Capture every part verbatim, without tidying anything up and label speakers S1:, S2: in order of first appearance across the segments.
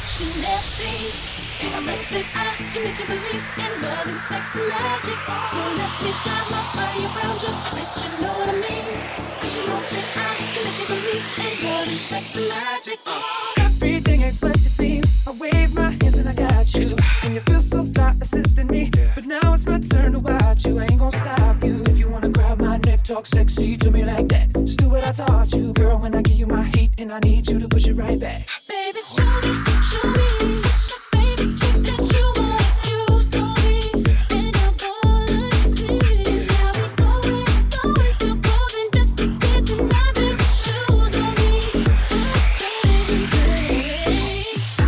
S1: you never seen. And I bet that I can make you believe in love and sex and magic. So let me drive my body around you. I bet you know what I mean. Cause you know that I can make you believe in love and sex and magic.
S2: Everything ain't what it seems. I wave my hands and I got you. And you feel so fly assisting me. But now it's my turn to watch you. I ain't gon' stop you. If you wanna grab my neck, talk sexy to me like that. Just do what I taught you, girl. When I give you my heat and I need you to push it right back.
S1: Baby, show me, show me. Baby, trick that you want, you saw me. And I wanna see. And now we going, going to golden disappears. And I make shoes on me. Oh, baby,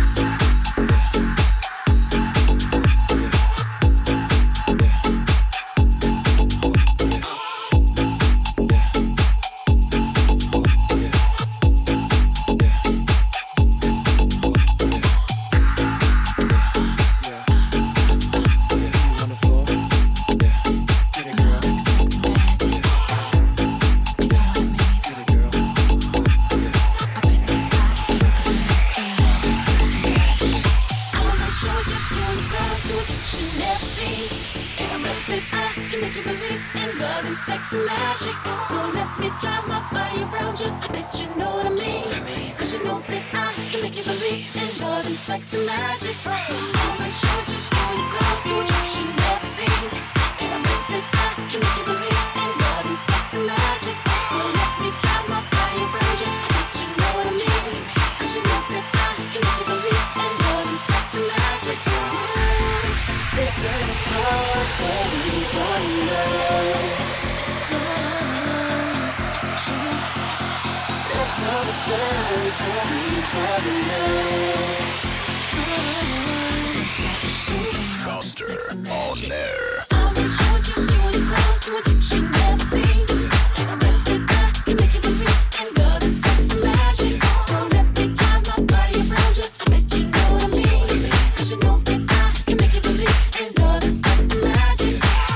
S1: sex and magic. So let me drive my body around you. I bet you know what I mean. Cause you know that I can make you believe in love and sex and magic. On my show, just wanna go through a trick you never seen. And I bet that I can make you believe in love and sex and magic. So let me drive my body around you. I bet you know what I mean. Cause you know that I can make you believe in love and sex and magic. This is the part where we wanna know. Let's all dance and we
S3: Stunter on air.
S1: I'll be sure just you and crowd to a trick you never seen. And I bet that I can make you believe in love and sex and magic. So let me drive my body around you. I bet you know what I mean. Cause you know that I can make you believe in love and sex and magic.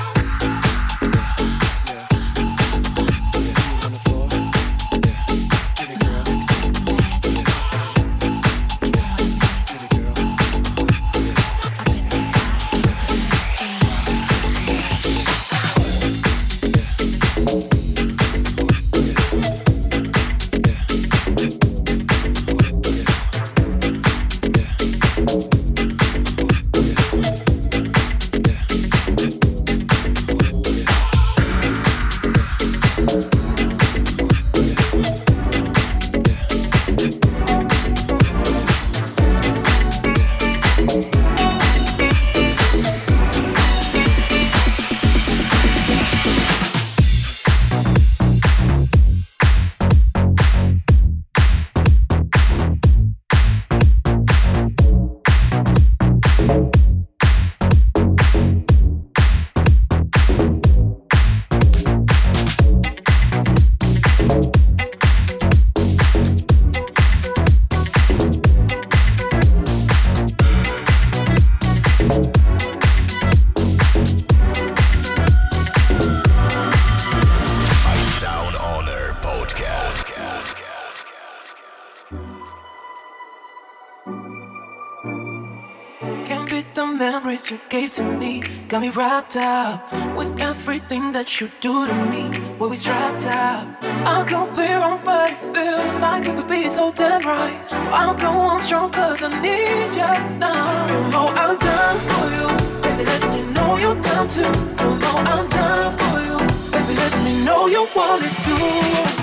S1: You gave to me, got me wrapped up with everything that you do to me. When we strapped up, I could be wrong, but it feels like it could be so damn right. So I'll go on strong, cause I need you now. You know I'm down for you, baby, let me know you're down too. You know I'm down for you, baby, let me know you want it too.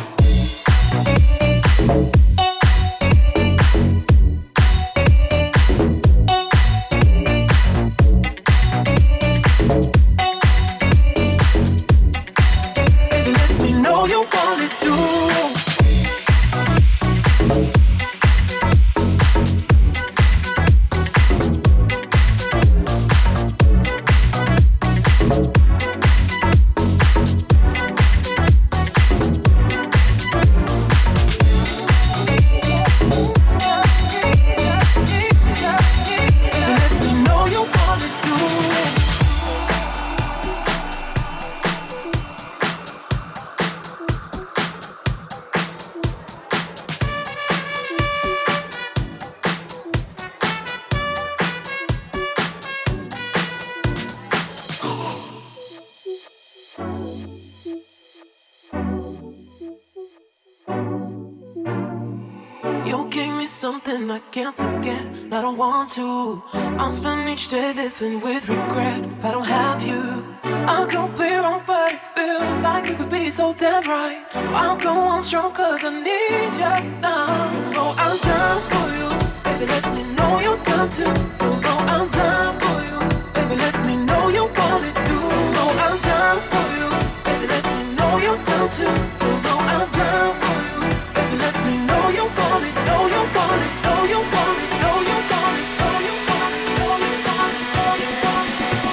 S2: something I can't forget. I don't want to. I'll spend each day living with regret if I don't have you. I could be wrong, but it feels like you could be so damn right. So I'll go on strong, cause I need you now. You know I'm down for you. Baby, let me know you're down too. You know I'm down for you. Baby, let me know you want it too. You know I'm down for you. Baby, let me know you're down too. You know I'm down for you. Baby, let me know you want it. Know you want it. Know you want it. Know you want it. Know you want it. Know you want it. Know you want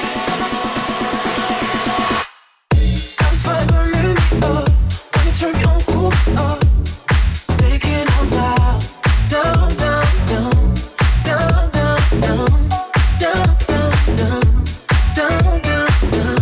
S2: it. That's why I remember when you turn me on cool up, making on down, down, down, down, down, down, down, down, down, down, down, down, down.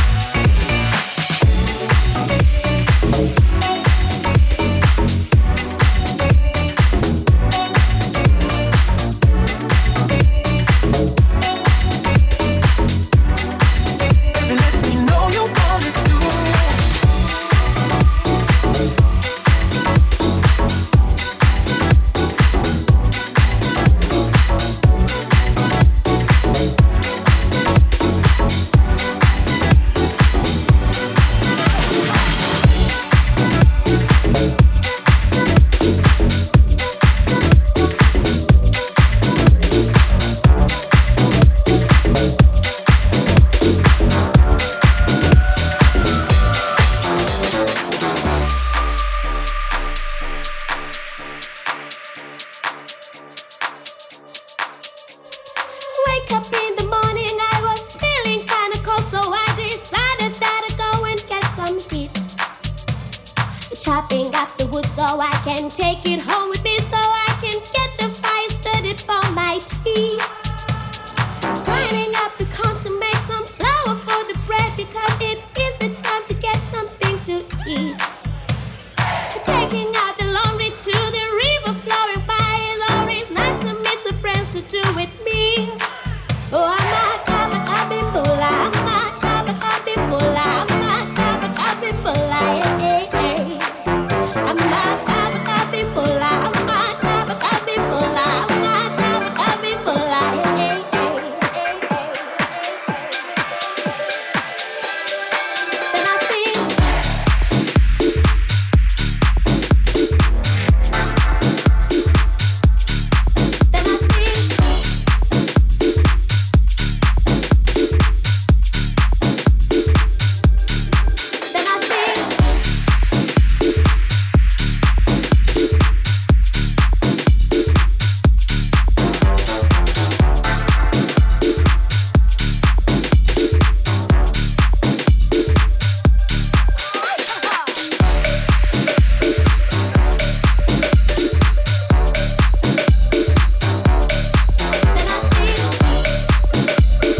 S4: Wake up in the morning, I was feeling kinda cold, so I decided that I'd go and get some heat. Chopping up the wood so I can take it home with me, so I can get the fire started for my tea. Grinding up the corn to make some flour for the bread, because it is the time to get something to eat. Taking out the laundry to the river, flowing by is always nice to meet some friends to do with me. Oh, I'm not coming up in Bula, I'm not coming up in Bula, I'm not coming up in Bula, yeah, yeah, yeah. I'm not coming up in Bula, I'm not coming up in Bula, I'm not coming up in Bula, yeah, yeah, yeah. Then I sing. Then I sing. Then I sing. Then I sing.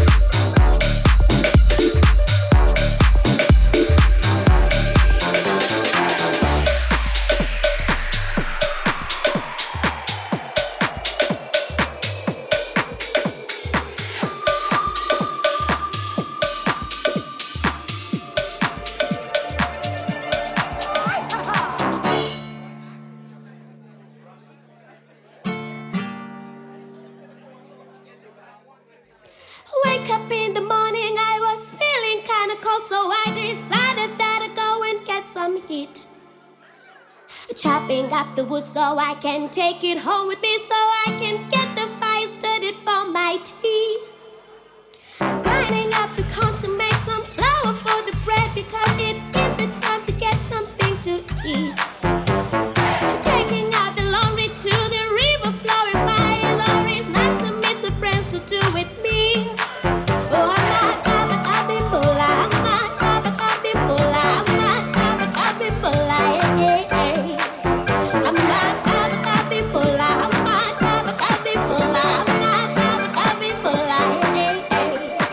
S4: Wake up in the morning, I was feeling kinda cold, so I decided that I'd go and get some heat. Chopping up the wood so I can take it home with me, so I can get the fire started for my tea. Grinding up the corn to make some flour for the bread, because it is the time to get something to eat. Taking out the laundry to the river, flowing by is always nice to meet some friends to do with me. Oh, I'm not coming up in Bula, I'm not coming up in Bula, I'm not coming up in Bula, yeah, yeah, yeah. I'm not coming up in Bula, I'm not coming up in Bula, I'm not coming up in Bula, yeah, yeah,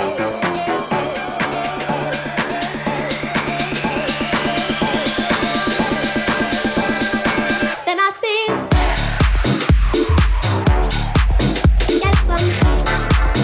S4: yeah. Then I sing. Get some heat.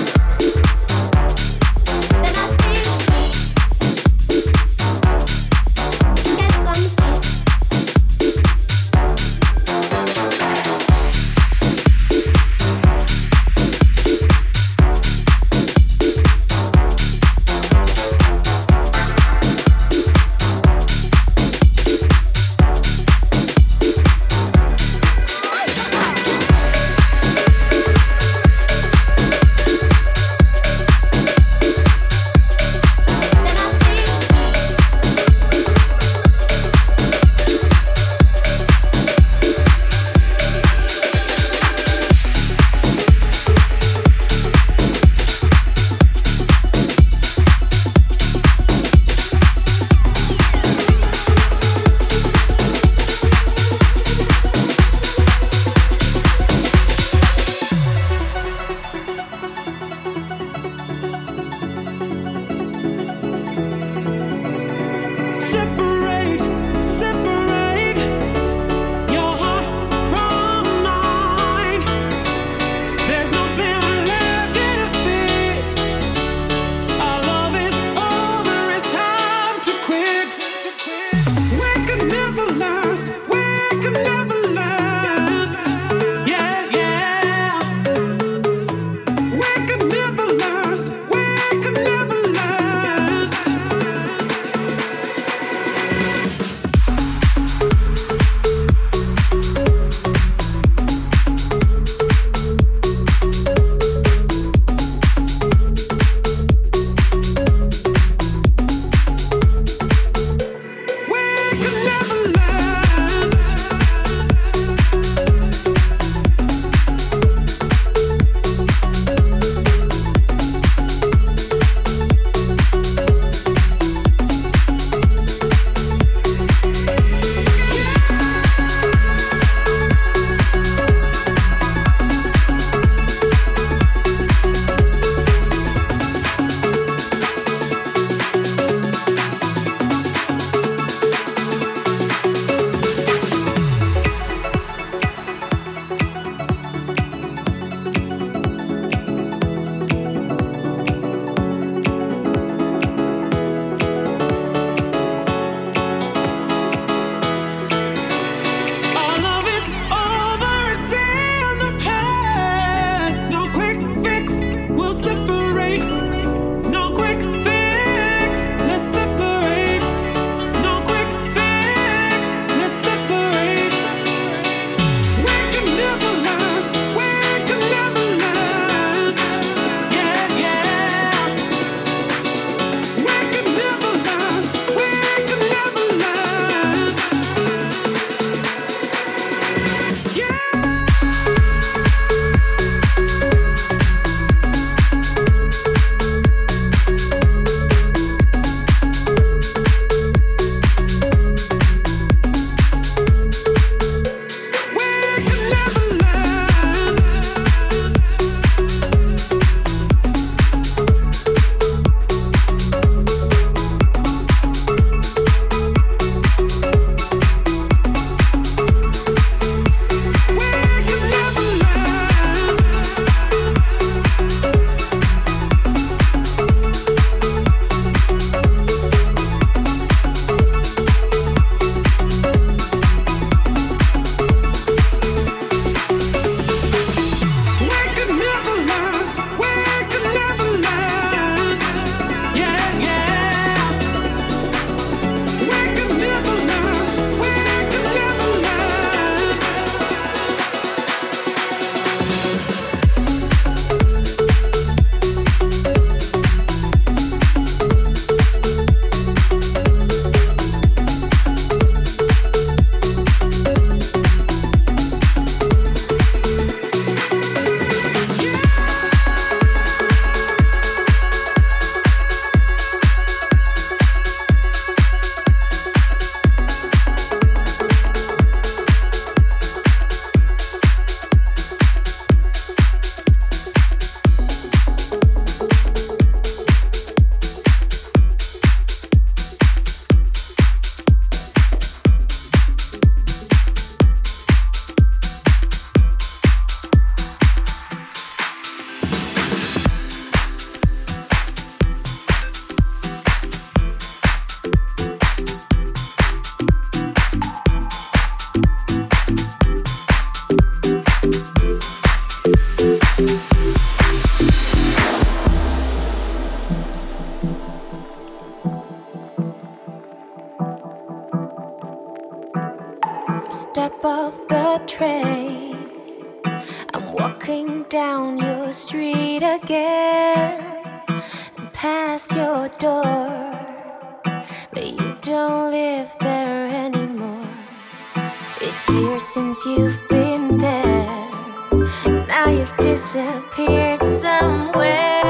S5: train. I'm walking down your street again, and past your door, but you don't live there anymore. It's years since you've been there. Now you've disappeared somewhere,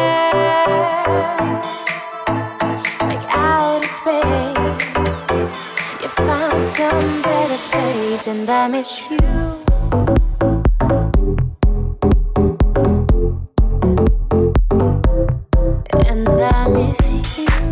S5: like outer space. You found some better place, and I miss you. And I miss you.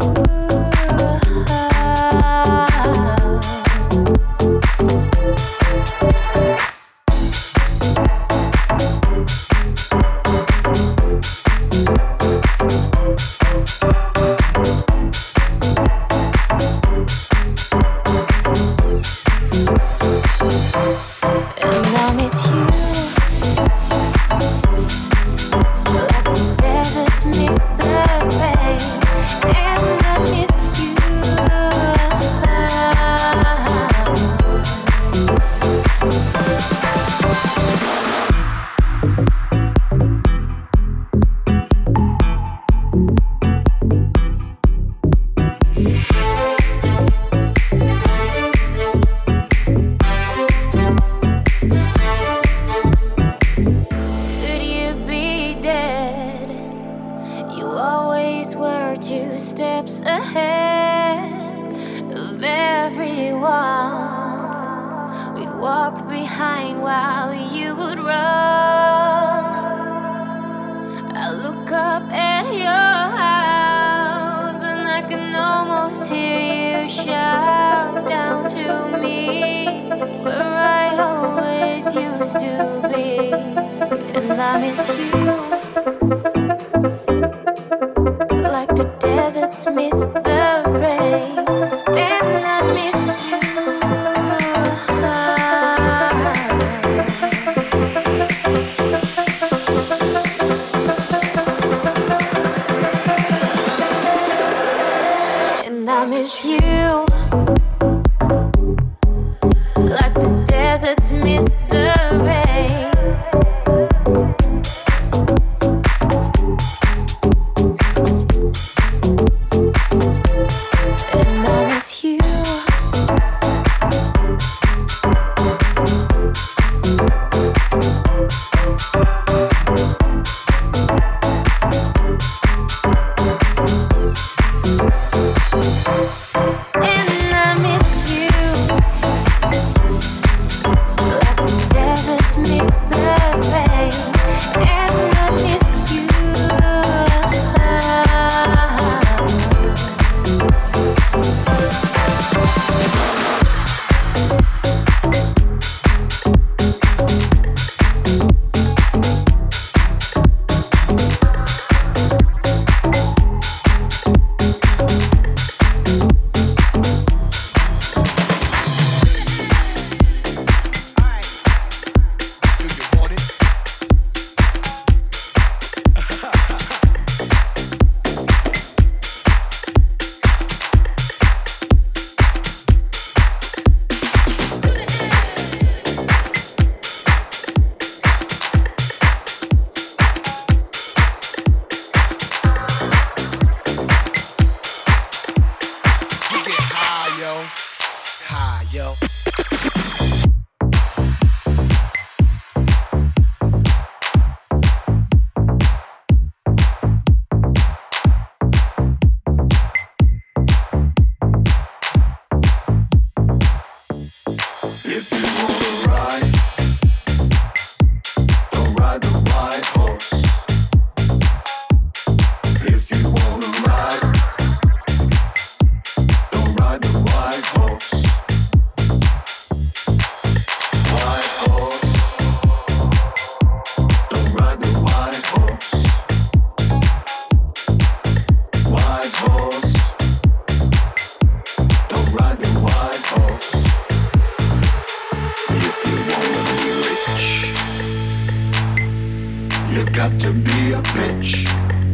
S3: got to be a bitch.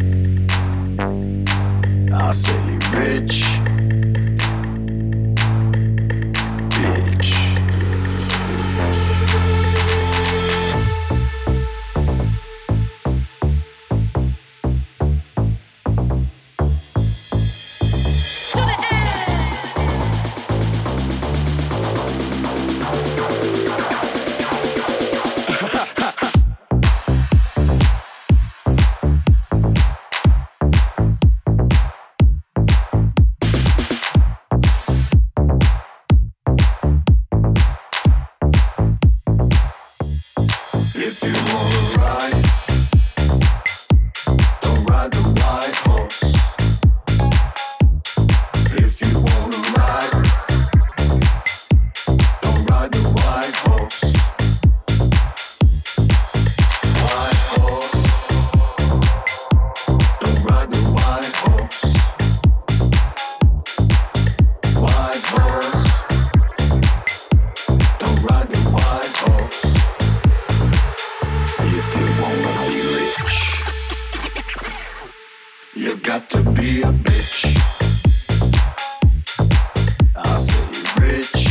S3: I say rich, bitch. You got to be a bitch. I say rich.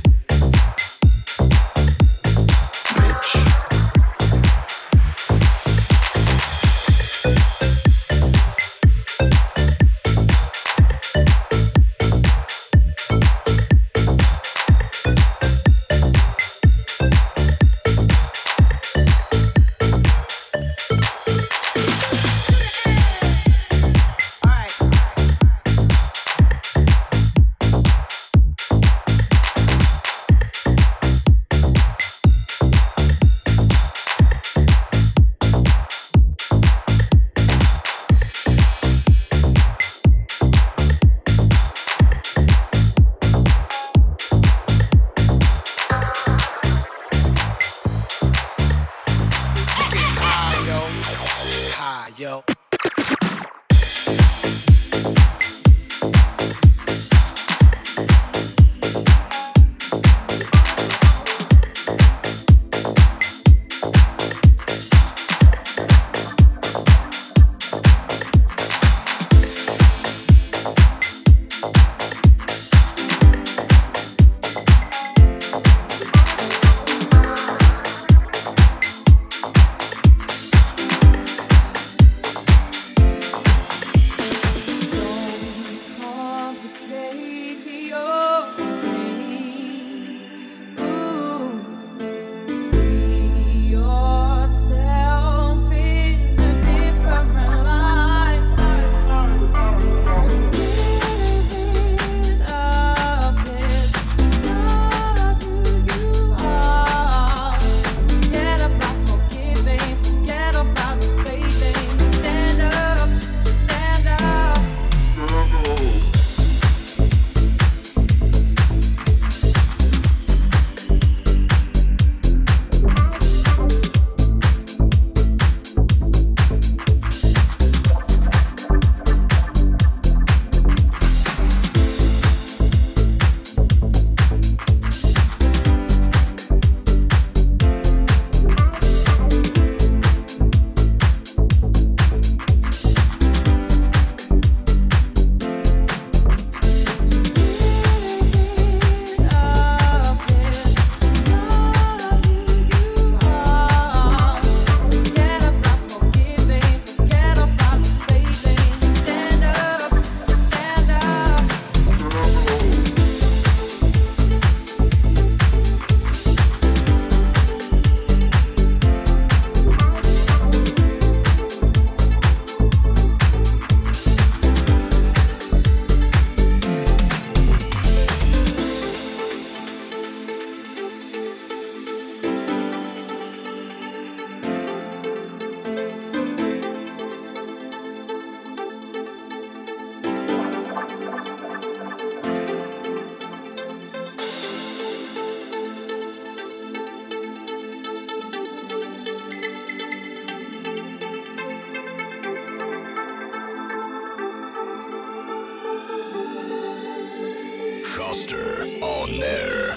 S3: Schuster on air.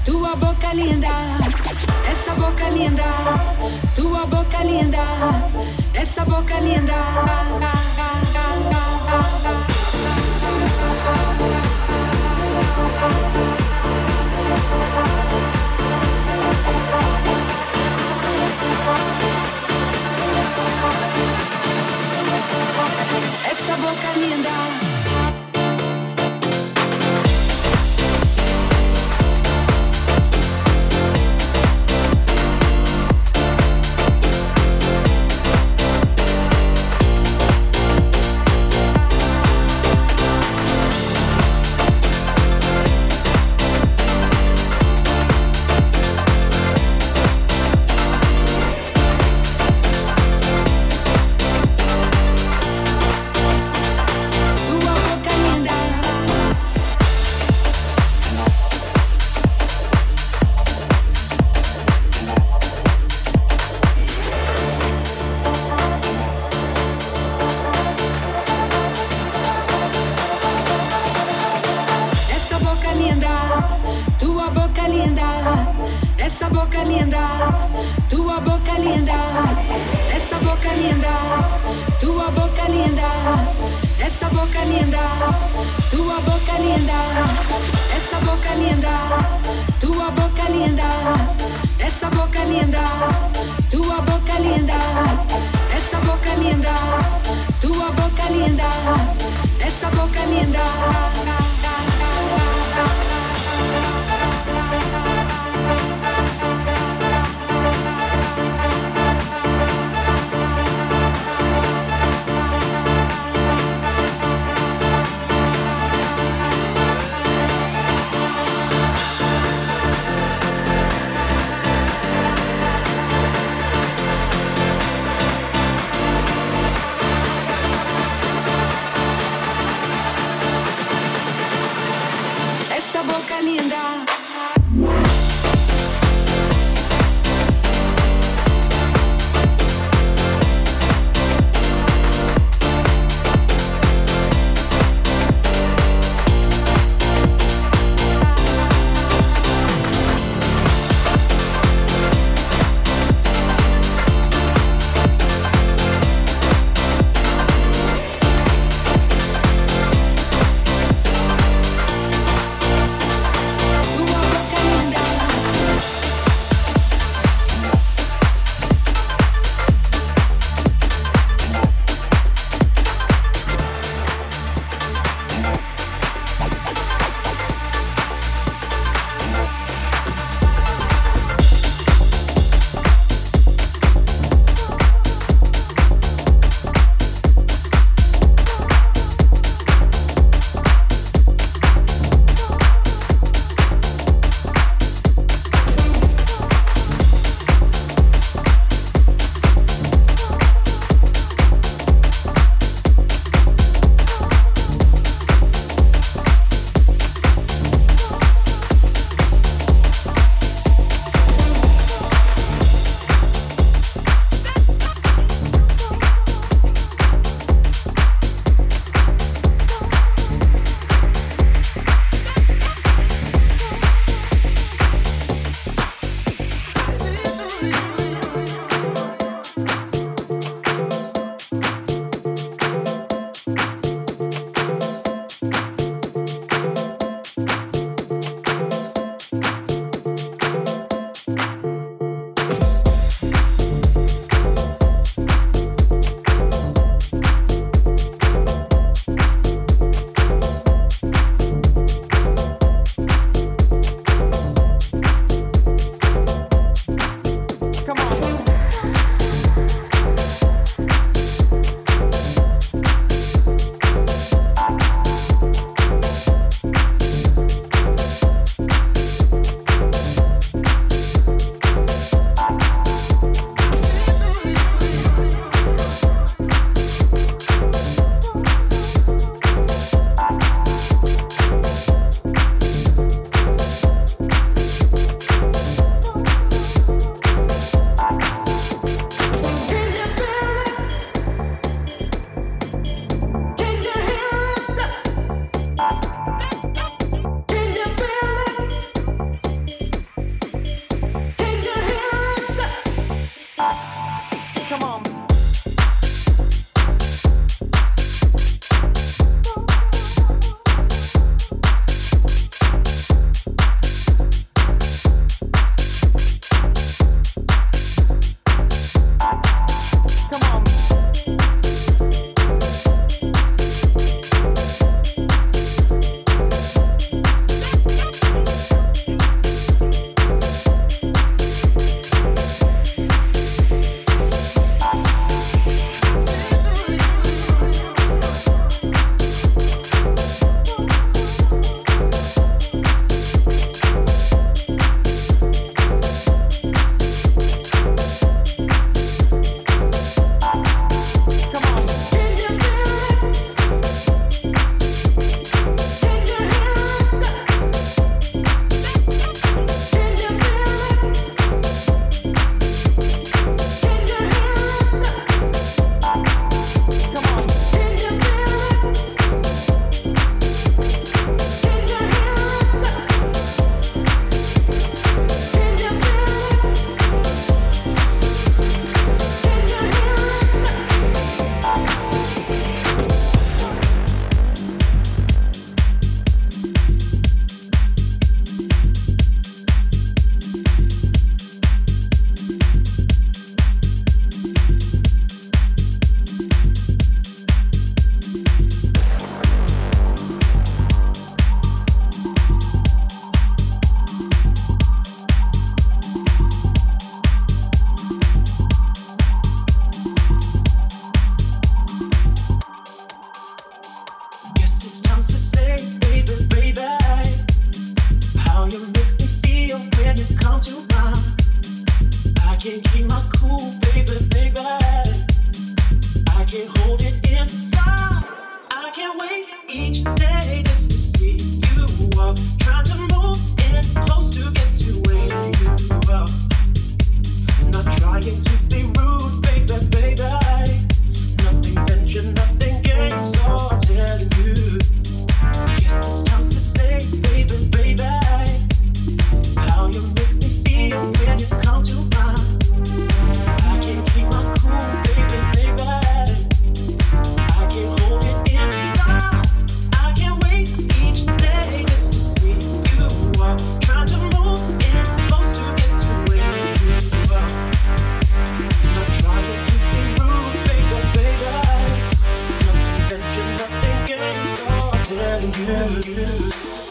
S6: tua boca linda, essa boca linda, tua boca linda, essa boca linda. Essa boca linda. Essa boca linda, tua boca linda, essa boca linda, tua boca linda, essa boca linda, tua boca linda, essa boca linda, tua boca linda, essa boca linda, tua boca linda, essa boca linda, tua boca linda, essa boca linda. Essa boca linda. Tua
S2: come to mind. I can't keep my cool, baby, baby. I can't hold it inside. I can't wait each day just to see you walk. Trying to move in close to get to where you are. Not trying to be rude, baby, baby. Nothing venture, nothing gain, so I'm telling you. Guess it's time to say, baby, baby, how you make me feel when you come to mind. I can't keep my cool, baby, baby. I can't hold it inside. I can't wait each day just to see you walk. Trying to move in close to get to where you are. Not trying to be rude, baby, baby. Nothing venture, nothing gain, so I'm telling you.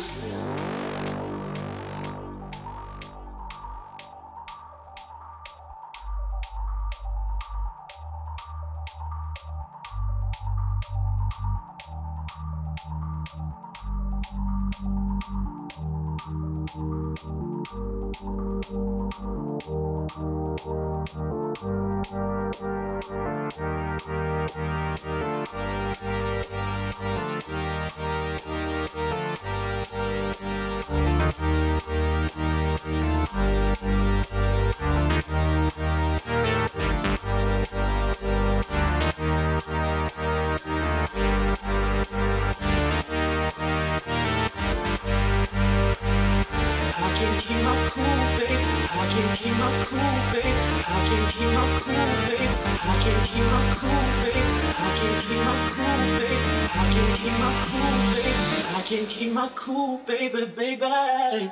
S2: Keep my cool, baby, baby.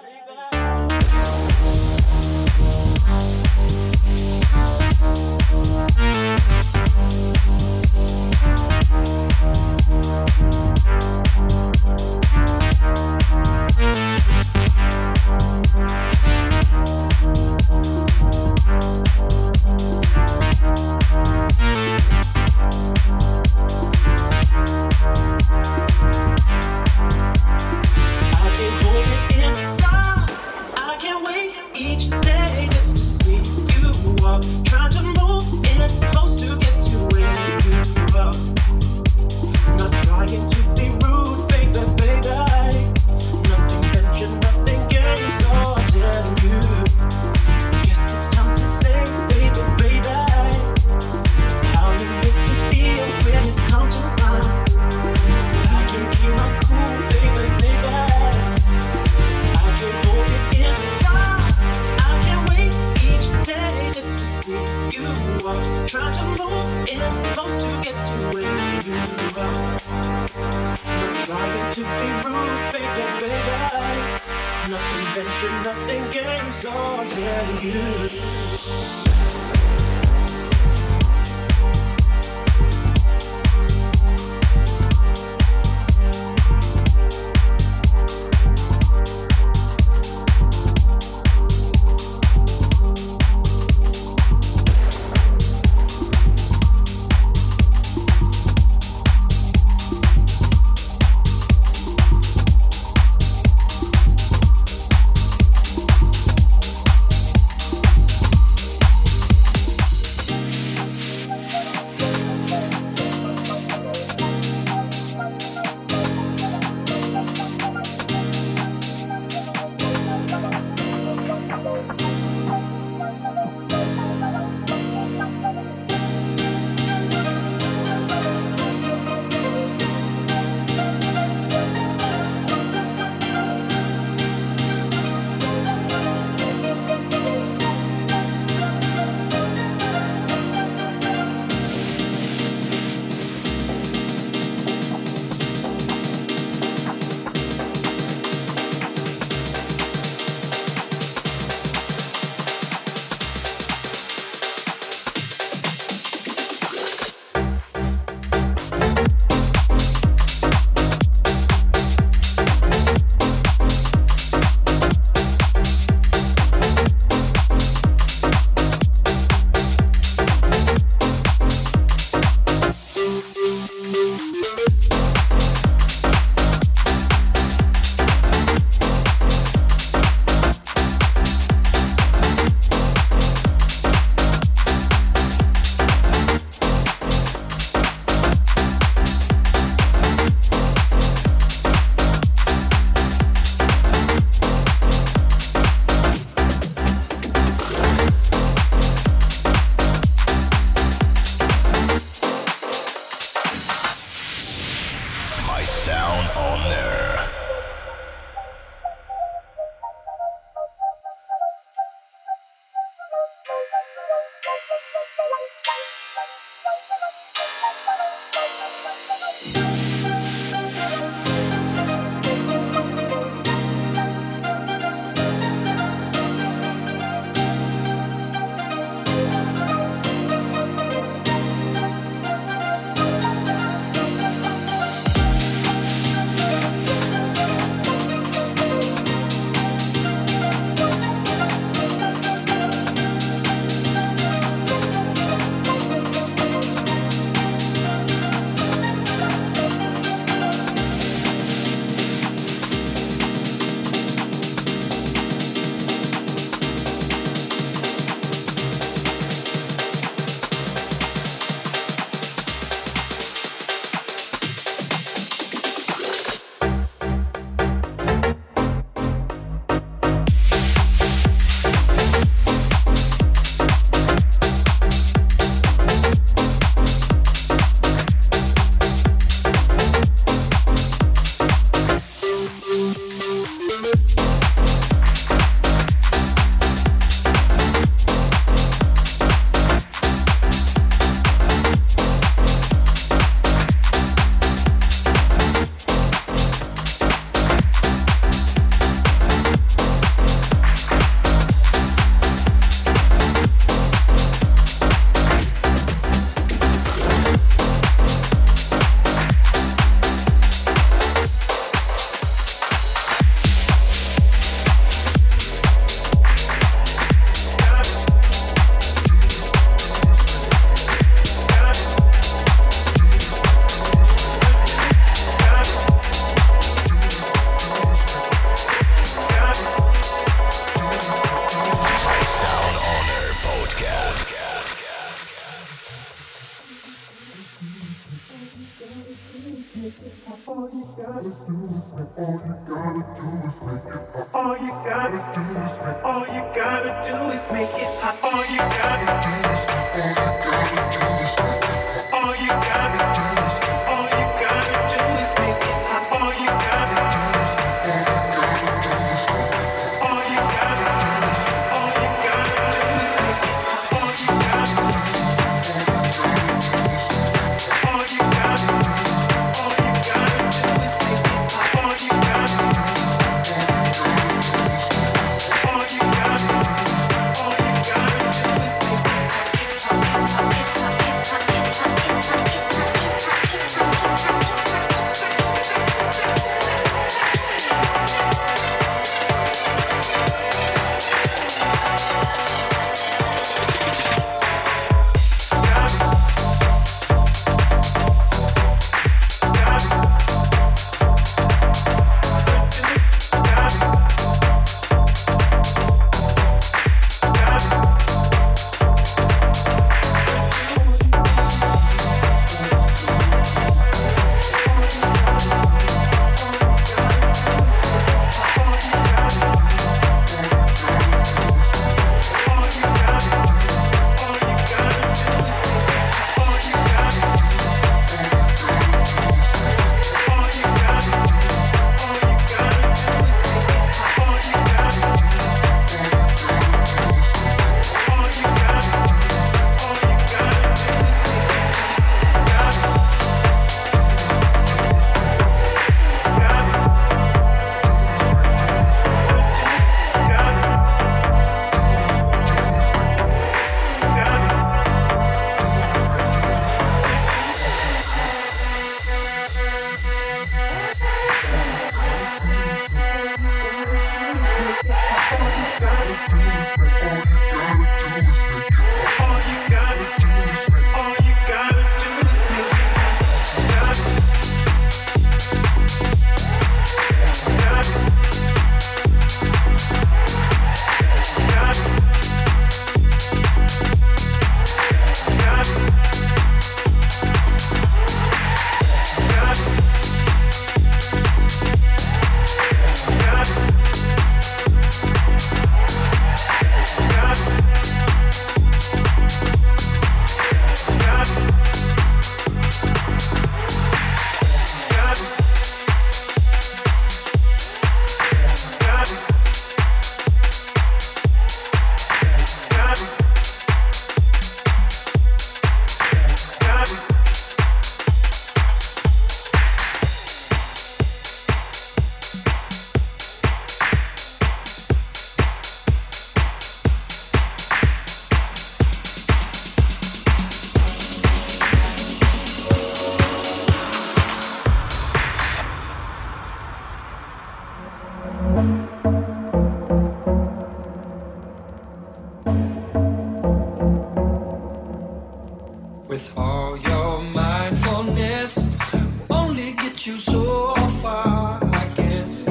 S2: With all your mindfulness, only get you so far, I guess.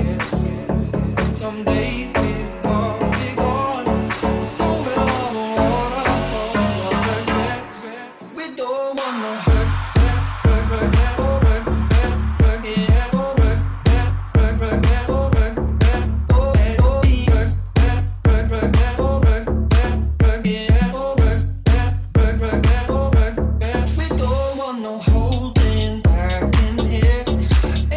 S2: Someday we'll all be gone, but so will all the waterfall of regrets. We don't want no hurt, hurt, hurt, hurt, oh, hurt, hurt, hurt, yeah, oh, hurt, hurt, hurt, hurt, oh, hurt, hurt, oh, hurt, oh, hurt, hurt, hurt, hurt, oh, hurt, hurt, hurt, yeah, oh, hurt, hurt, hurt, hurt, oh, hurt. We don't want no holding back in here.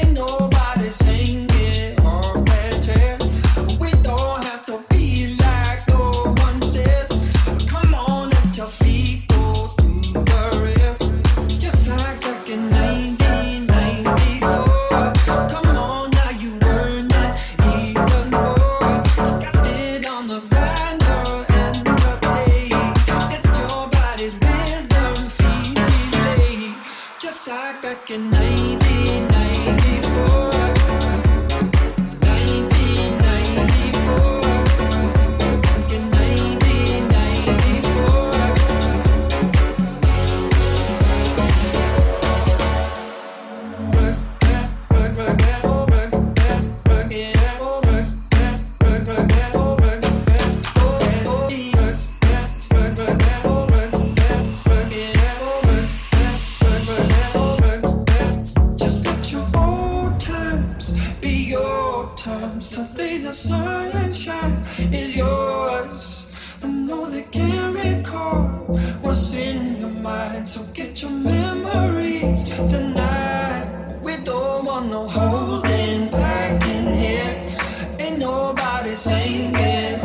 S2: sunshine is yours. I know they can't recall what's in your mind, so get your memories tonight. We don't want no holding back in here. Ain't nobody singing.